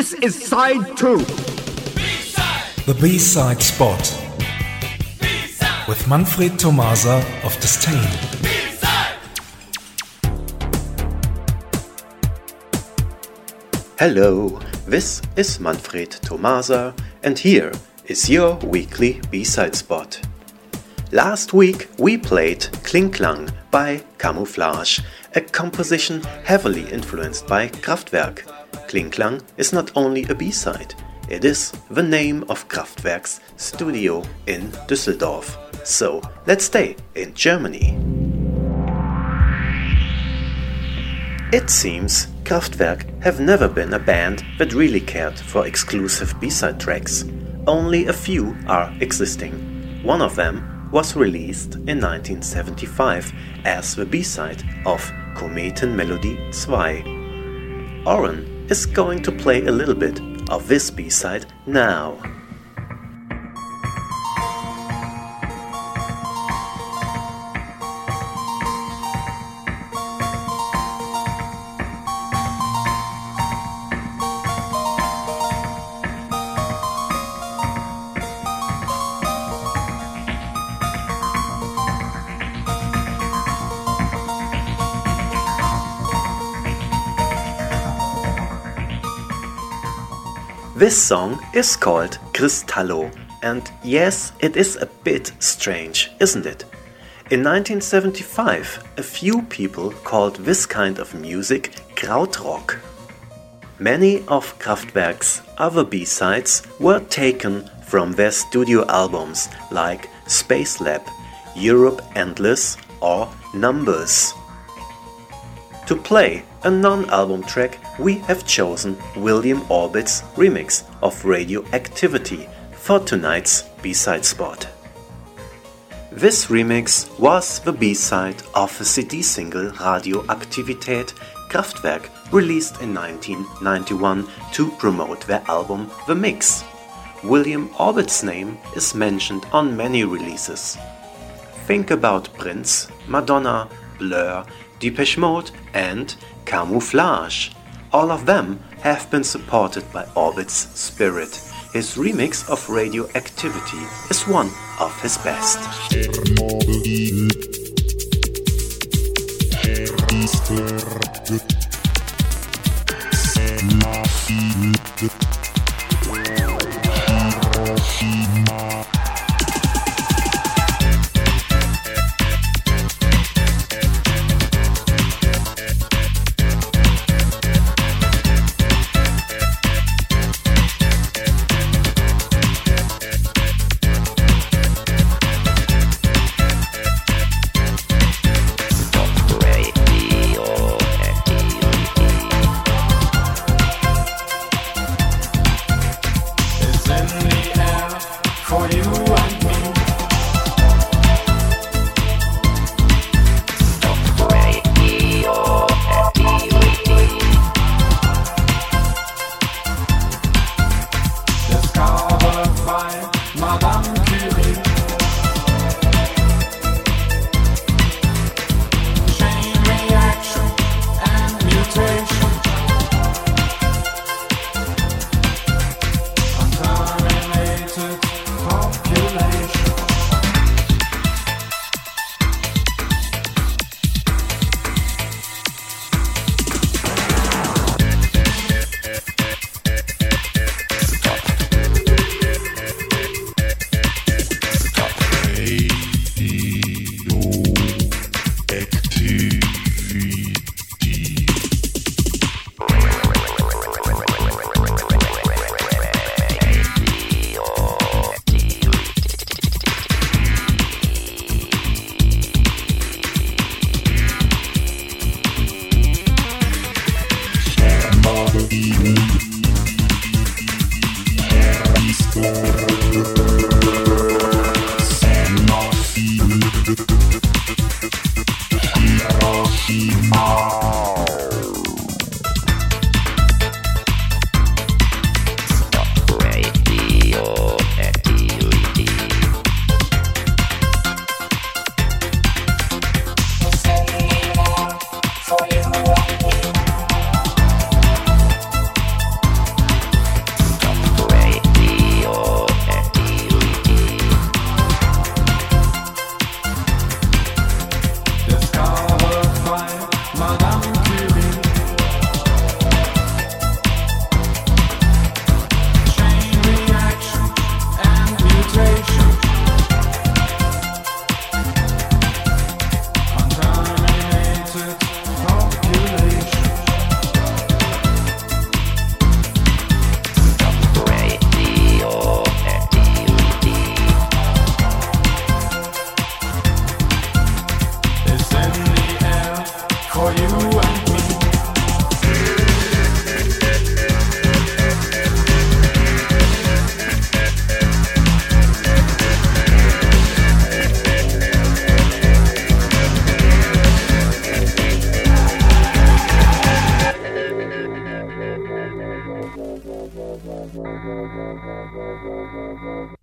This is side 2. B-side. The B-side spot. B-side. With Manfred Tomasa of Disdain. Hello, this is Manfred Tomasa, and here is your weekly B-side spot. Last week we played Kling Klang by Camouflage, a composition heavily influenced by Kraftwerk. Kling Klang is not only a B-side, it is the name of Kraftwerk's studio in Düsseldorf. So let's stay in Germany. It seems Kraftwerk have never been a band that really cared for exclusive B-side tracks. Only a few are existing. One of them was released in 1975 as the B-side of Kometenmelodie 2. Oren is going to play a little bit of this B-side now. This song is called Cristallo, and yes, it is a bit strange, isn't it? In 1975, a few people called this kind of music Krautrock. Many of Kraftwerk's other B-sides were taken from their studio albums like Space Lab, Europe Endless or Numbers. To play a non-album track, we have chosen William Orbit's remix of Radioactivity for tonight's B-side spot. This remix was the B-side of the CD single Radioaktivität Kraftwerk, released in 1991 to promote their album The Mix. William Orbit's name is mentioned on many releases. Think about Prince, Madonna, Blur, Depeche Mode and Camouflage. All of them have been supported by Orbit's spirit. His remix of Radioactivity is one of his best.